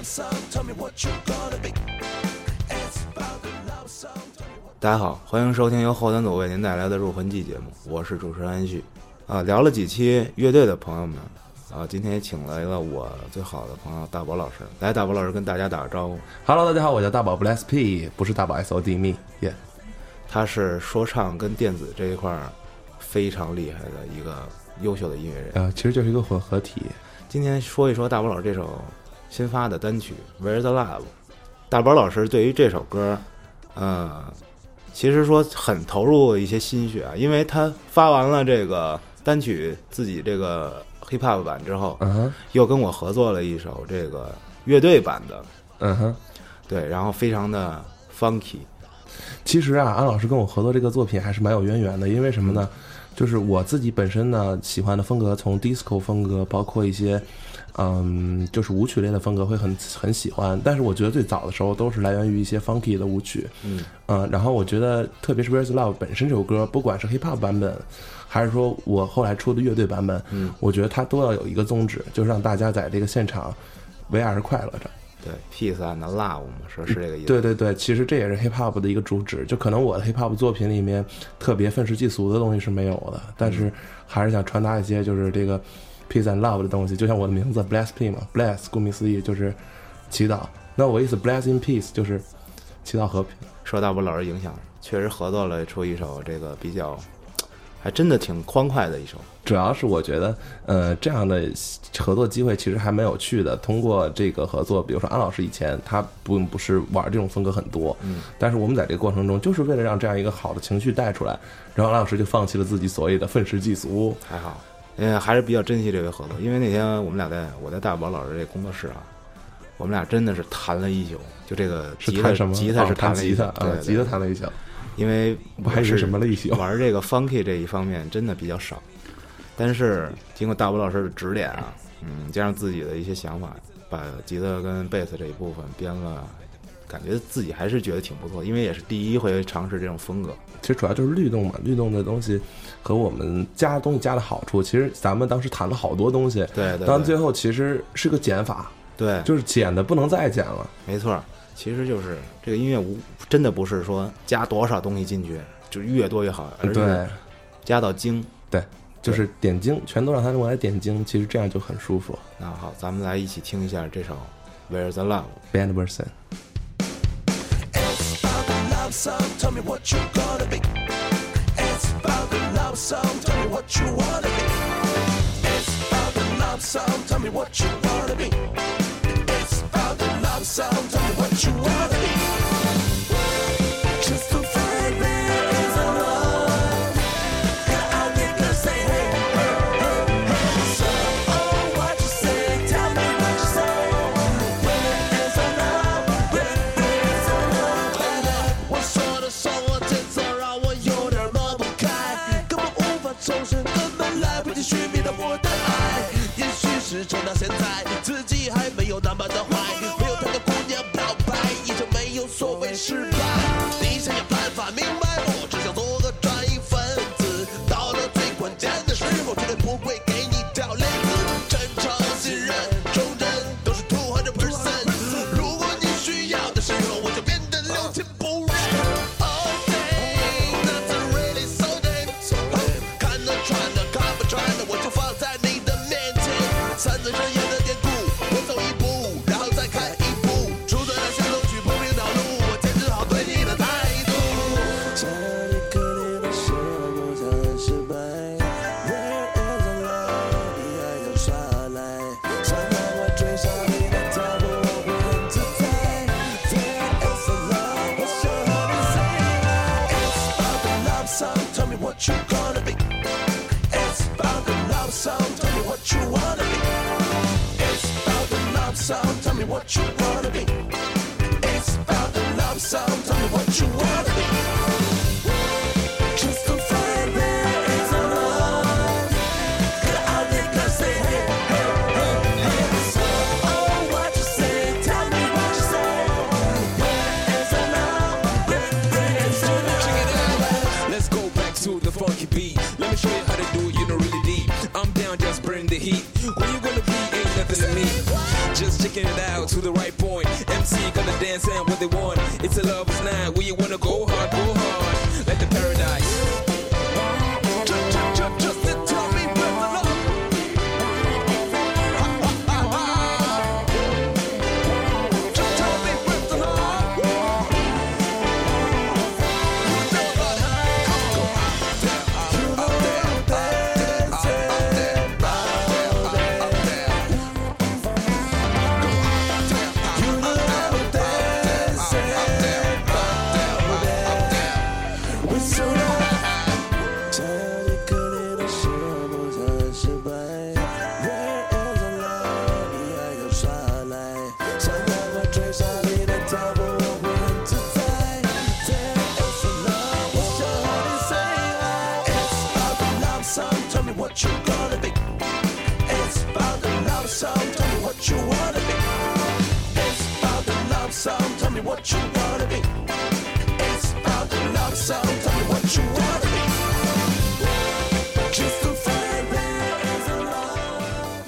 大家好，欢迎收听由后端组为您带来的入魂记节目，我是主持人安旭。聊了几期乐队的朋友们，今天也请来了我最好的朋友大宝老师。来，大宝老师跟大家打个招呼。 Hello， 大家好，我叫大宝 Bless P， 不是大宝 SOD me， 耶、yeah。 他是说唱跟电子这一块非常厉害的一个优秀的音乐人。 其实就是一个混合体。 今天说一说大宝老师这首新发的单曲 Where's the Love。大宝老师对于这首歌，其实说很投入一些心血啊，因为他发完了这个单曲自己这个 hip hop 版之后，又跟我合作了一首这个乐队版的，对，然后非常的 funky。 其实啊，安老师跟我合作这个作品还是蛮有渊源的，因为什么呢？就是我自己本身呢喜欢的风格，从 disco 风格，包括一些就是舞曲类的风格会很喜欢，但是我觉得最早的时候都是来源于一些 funky 的舞曲，然后我觉得特别是 Where's Love 本身这首歌，不管是 hip hop 版本，还是说我后来出的乐队版本，我觉得它都要有一个宗旨，就是让大家在这个现场为爱而快乐着。 对 ，peace and love 嘛，是这个意思。 对对对，其实这也是 hip hop 的一个主旨。就可能我的 hip hop 作品里面特别愤世嫉俗的东西是没有的，但是还是想传达一些就是这个 peace and love 的东西。就像我的名字 Bless P 嘛 ，Bless 顾名思义就是祈祷。那我意思 Bless in peace 就是祈祷和平。 受大宝老师影响，确实合作了出一首这个比较。还真的挺欢快的一首， 主要是我觉得，这样的合作机会其实还蛮有趣的。通过这个合作，比如说安老师以前他不是玩这种风格很多，但是我们在这个过程中就是为了让这样一个好的情绪带出来，然后安老师就放弃了自己所谓的愤世嫉俗。 还好，还是比较珍惜这个合作，因为那天我们俩我在大宝老师这工作室啊，我们俩真的是谈了一宿，就这个吉他是弹了一宿， 对，吉他弹了一宿。 因为我还是什么类型玩这个 funky 这一方面真的比较少，但是经过大宝老师的指点啊，加上自己的一些想法，把吉他跟贝斯这一部分编了，感觉自己还是觉得挺不错，因为也是第一回尝试这种风格。 其实主要就是律动嘛，律动的东西和我们加东西加的好处，其实咱们当时谈了好多东西， 对， 但最后其实是个减法， 对， 就是减的不能再减了， 没错。其实就是这个音乐真的不是说加多少东西进去就越多越好，而是加到精， 对，就是点睛，全都让它用来点睛，其实这样就很舒服。 那好，咱们来一起听一下这首 Where's the Love Band Version。 It's about the love song, tell me what you gonna be. It's about the love song, tell me what you wanna be. It's about the love song, tell me what you wanna be.It's about the love song, tell me what you wanna be. Just to find there is a love. And I'll make her say hey, hey, hey, hey. So, oh, what you say, tell me what you say. Where is the love, where is the love. 我说的说我节奏让我有点抹不开，根本无法抽身，根本来不及寻觅到我的爱。也许是撑到现在，自己还没有那么的坏。所谓失败，你想想办法明白我只想做个专业分子，到了最关键的时候绝对不会给你掉链子，真诚信任忠贞都是200%，如果你需要的时候我就变得6000不认。 Okay, that's really so damn看得穿的看不穿的我就放在你的面前，3字真言的典故，我走一步然后再看一步，出在那些都去不平道路，What you gonna be? It's about the love song, tell me what you wanna be. It's about the love song, tell me what you wanna be. It's about the love song, tell me what you wanna be. Just to find there is a love. And I'll make her say hey, hey, hey, hey. So, oh, what you say, tell me what you say. Where is the love? Where is the love? Check it out. Let's go back to the funky beat. Let me show you how to do it, you know really deep. I'm down, just burn the heat. When you gonna be, ain't nothing to me. just checking it out to the right point. MC gonna dance and what they want. It's a lover's night where you wanna go hard, like the paradise. Just tell me where the love. Just tell me where the love. What you gonna be? It's about the love song. Tell me what you wanna be. It's about the love song. Tell me what you wanna be. It's about the love song. Tell me what you wanna be. Just to find there is a love.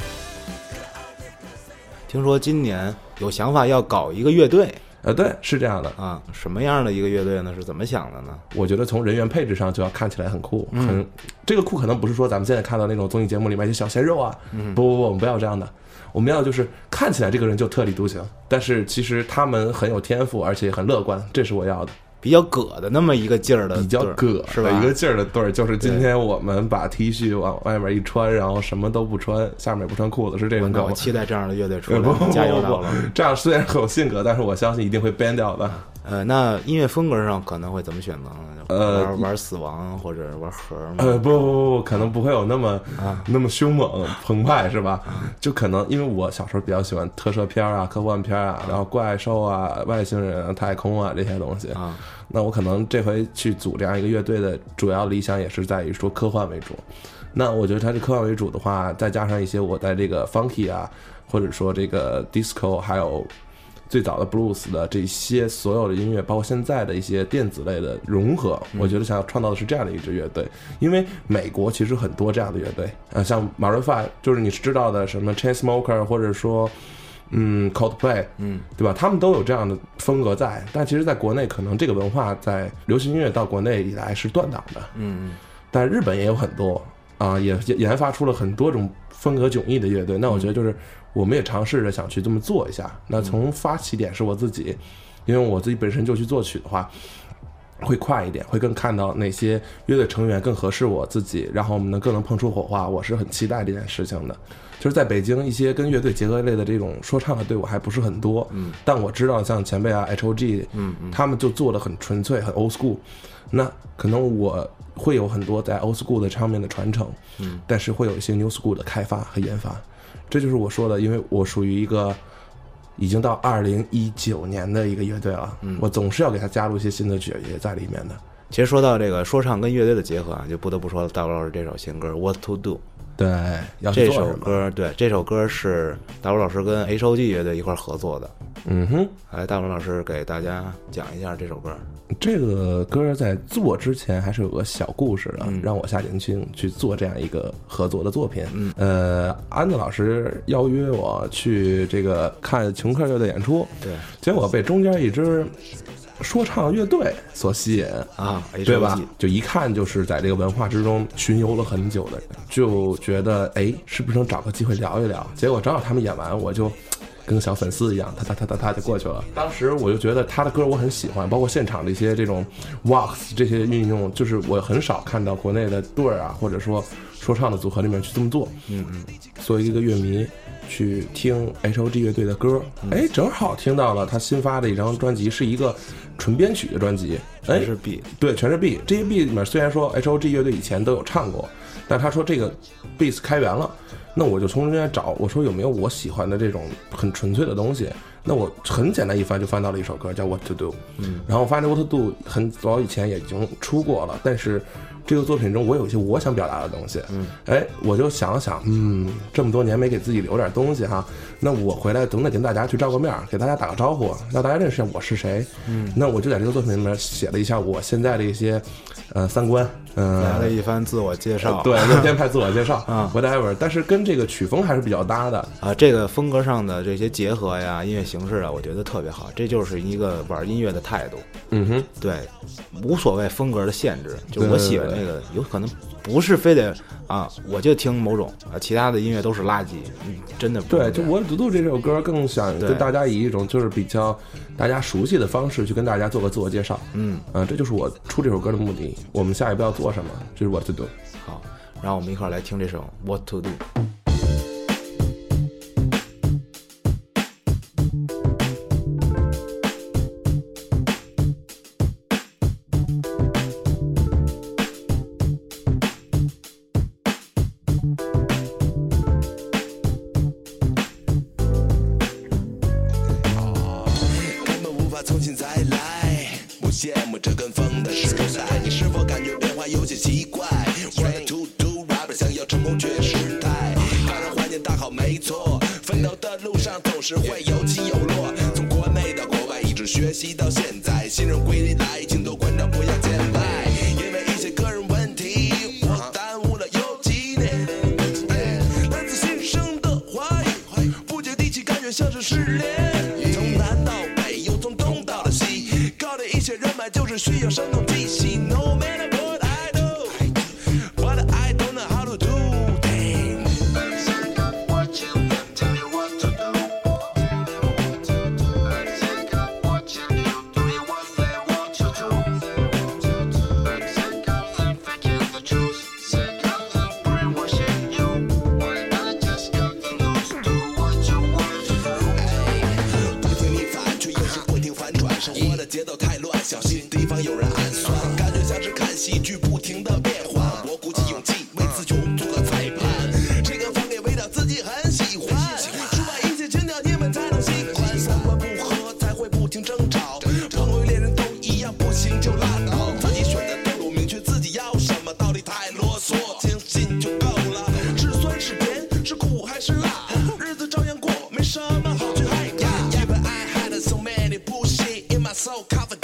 听说今年有想法要搞一个乐队对，是这样的啊，什么样的一个乐队呢？是怎么想的呢？ 我觉得从人员配置上就要看起来很酷，这个酷可能不是说咱们现在看到那种综艺节目里面一些小鲜肉啊，不，我们不要这样的，我们要就是看起来这个人就特立独行，但是其实他们很有天赋，而且很乐观，这是我要的。 比较葛的那么一个劲儿的， 比较葛是吧？ 一个劲儿的对儿，就是今天我们把 T 恤往外面一穿，然后什么都不穿，下面也不穿裤子，是这种梗。 我期待这样的乐队出来，加油到了。 这样虽然很有性格，但是我相信一定会 ban 掉的。 那音乐风格上可能会怎么选择呢？玩死亡或者玩核吗？ 不，可能不会有那么凶猛澎湃，是吧？就可能因为我小时候比较喜欢特摄片啊、科幻片啊，然后怪兽啊、外星人啊、太空啊这些东西啊。那我可能这回去组这样一个乐队的主要理想也是在于说科幻为主。那我觉得它是科幻为主的话，再加上一些我在这个 funky 啊，或者说这个 disco， 还有最早的 blues 的这些所有的音乐，包括现在的一些电子类的融合，我觉得想要创造的是这样的一支乐队。因为美国其实很多这样的乐队，像 Maroon 5，就是你是知道的什么 Chainsmokers， 或者说Coldplay， 对吧？他们都有这样的风格在，但其实在国内可能这个文化在流行音乐到国内以来是断档的，但日本也有很多啊，也研发出了很多种风格迥异的乐队。那我觉得就是我们也尝试着想去这么做一下。那从发起点是我自己，因为我自己本身就去作曲的话，会快一点，会更看到哪些乐队成员更合适我自己，然后我们更能碰出火花。我是很期待这件事情的。就是在北京一些跟乐队结合类的这种说唱的队伍还不是很多，但我知道像前辈啊 HOG，他们就做得很纯粹，很 old school。那可能我会有很多在 old school 的上面的传承，但是会有一些 new school 的开发和研发。这就是我说的，因为我属于一个已经到2019年的一个乐队了，我总是要给他加入一些新的血液在里面的。 其实说到这个说唱跟乐队的结合啊，就不得不说大宝老师这首新歌 What to Do。 对， 这首歌，对，这首歌是大宝老师跟 HOG 乐队一块合作的。来，大宝老师给大家讲一下这首歌。 这个歌在做之前还是有个小故事的，让我下决心去做这样一个合作的作品。安子老师邀约我去这个看琼克乐队演出，对，结果被中间一支说唱乐队所吸引啊， 对吧？就一看就是在这个文化之中巡游了很久的人，就觉得是不是能找个机会聊一聊？结果正好他们演完，我就跟个小粉丝一样，他就过去了。当时我就觉得他的歌我很喜欢，包括现场的一些这种 wax 这些运用，就是我很少看到国内的队啊，或者说说唱的组合里面去这么做。作为一个乐迷去听 HOG 乐队的歌，正好听到了他新发的一张专辑，是一个纯编曲的专辑， 全是 B， 对，全是 B。这些 B 里面虽然说 HOG 乐队以前都有唱过，但他说这个 B 开源了，那我就从中间找，我说有没有我喜欢的这种很纯粹的东西。那我很简单一翻就翻到了一首歌叫 What to Do， 然后我发现 What to Do 很早以前也已经出过了，但是这个作品中我有一些我想表达的东西，我就想了想，这么多年没给自己留点东西哈，那我回来总得跟大家去照个面，给大家打个招呼，让大家认识一下我是谁。那我就在这个作品里面写了一下我现在的一些三观， 来了一番自我介绍， 对，就编排自我介绍啊 whatever， 但是跟这个曲风还是比较搭的啊，这个风格上的这些结合呀，音乐形式啊，我觉得特别好，这就是一个玩音乐的态度。 嗯哼， 对，无所谓风格的限制，就我喜欢这个，有可能不是非得啊，我就听某种啊，其他的音乐都是垃圾，真的不对，就我赌赌这首歌更想跟大家以一种就是比较大家熟悉的方式去跟大家做个自我介绍。这就是我出这首歌的目的。我们下一步要做什么，这是我to do。 好，然后我们一块儿来听这首 What to Do。 重新再来，不羡慕这跟风的时代，你是否感觉变化有些奇怪 ？What to do rapper 想要成功却失态，当然环境大好没错，奋斗的路上总是会有起有落，从国内到国外一直学习到现在，新人归来，请多关照不要见外，因为一些个人问题，我耽误了有几年。来自新生的怀疑，不接地气，感觉像是失恋，从南到北。人脉就是需要生动体系 No matter what I do But I don't know how to do things Take up what you do Tell me what to do Take up what you do Do you what they want to do Take up them faking the truth Take up them brainwashing you I just got to lose Do what you want to do 不听你反却又是不停反转生活的节奏太乱小心地方有人暗算，感觉像是看戏剧不停的变换。我鼓起勇气为词穷做个裁判，这个方面味道自己很喜欢。出卖一切情调你们才能喜欢，三观不合才会不停争吵。朋友恋人都一样，不行就拉倒。自己选的道路，明确自己要什么，道理太啰嗦，清醒就够了。是酸是甜，是苦还是辣，日子照样过，没什么好去害怕。Even I had so many bullshit in my soul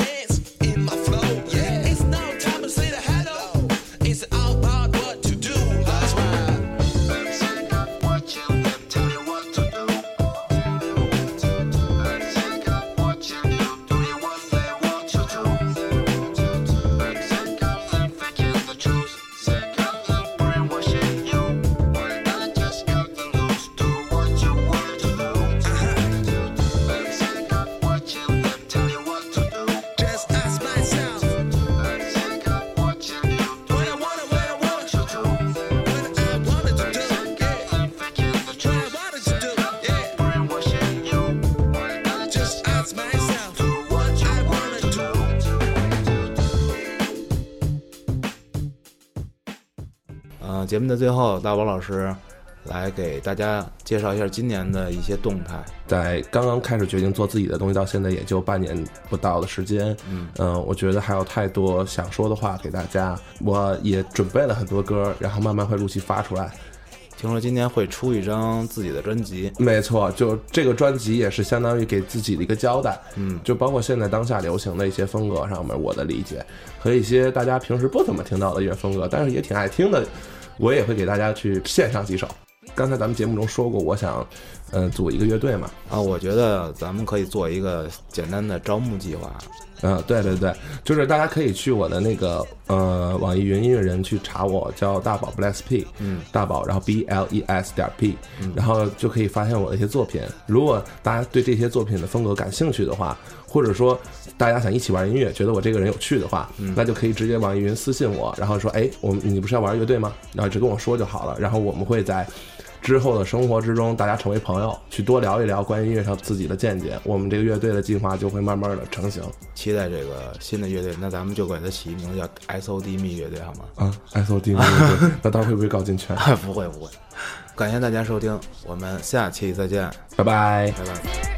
讲。节目的最后，大宝老师来给大家介绍一下今年的一些动态。 在刚刚开始决定做自己的东西到现在也就半年不到的时间，我觉得还有太多想说的话给大家，我也准备了很多歌，然后慢慢会陆续发出来。 听说今年会出一张自己的专辑， 没错，就这个专辑也是相当于给自己的一个交代，就包括现在当下流行的一些风格上面我的理解，和一些大家平时不怎么听到的音乐风格，但是也挺爱听的，我也会给大家去献上几首。刚才咱们节目中说过，我想组一个乐队嘛， 我觉得咱们可以做一个简单的招募计划。 对对对，就是大家可以去我的那个网易云音乐人去查我，叫大宝 Bless P， 大宝，然后 BLES.P， 然后就可以发现我的一些作品。如果大家对这些作品的风格感兴趣的话，或者说大家想一起玩音乐，觉得我这个人有趣的话，那就可以直接网易云私信我，然后说，你不是要玩乐队吗？然后只跟我说就好了，然后我们会在之后的生活之中，大家成为朋友，去多聊一聊关于音乐上自己的见解，我们这个乐队的计划就会慢慢的成型。 期待这个新的乐队，那咱们就给它起名字叫 SOD 蜜乐队好吗 ？SOD 蜜乐队，那他会不会搞进圈？ 不会不会。感谢大家收听，我们下期再见， 拜拜， 拜拜。